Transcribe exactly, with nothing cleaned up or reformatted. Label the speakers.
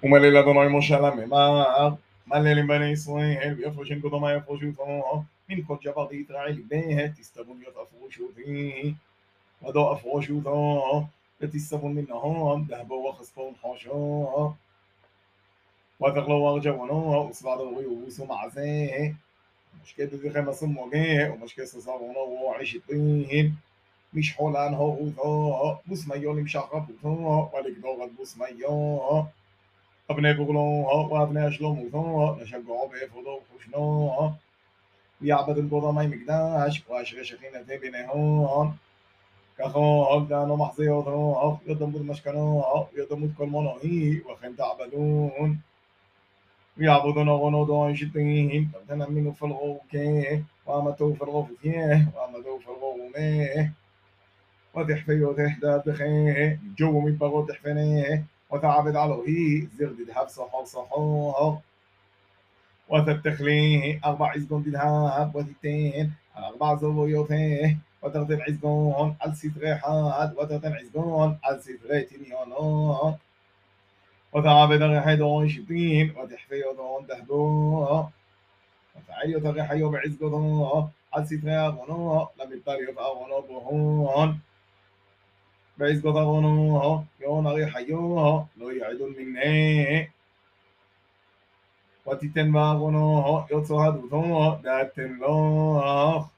Speaker 1: ומלל אדוני משה לממר, מלל בני ישראל, ויפרשן קודמה יפרשותו, מן כל ג'בר דישראל בה, תסתבון יפרשותי, ודו אפרשותו, ותסתבון מנהון, דהבו וחספון חושו, ותכלו ארג'בונו, וסבד ובוסו מעשה, ומשקה דזכם הסמוגה, ומשקה ססרונו ועשיתין, משחולן הורותו, בוסמיו למשך רבותו, ולגדור עד בוסמיו, אבני בוגלו, ואבני השלומותו, נשגעו באפודו וחושנו, ויעבד אל קודמי מקדש, ואשרי שכינתי ביניהון, ככה דנו מחזיותו, ידמות משכנו, ידמות כל מונועי, וכן תעבדון, ויעבדון ארונו דוי שתים, תנמינו פלרוקה, ועמתו פלרופתיה, ועמתו פלרומה, وتحفي وتحدى بخيه جو من بغو تحفنيه وتعبد عليه زغد دهب صحو صحو وتتخليه أربع عزقون دهب وتتين على أربع زويوته وتغتن عزقون على ستري حاد وتغتن عزقون على ستري تنيانات وتعبد ريحي دون شتين وتحفي دون دهبو وتعالي وتغيحي بعزقون على ستري أغنو لم يطريق أغنو بهون بعزقة غنوها يون ريحيوها לא יעדון מנה ותיתן בה غنوها יוצא הדותו דעתן לך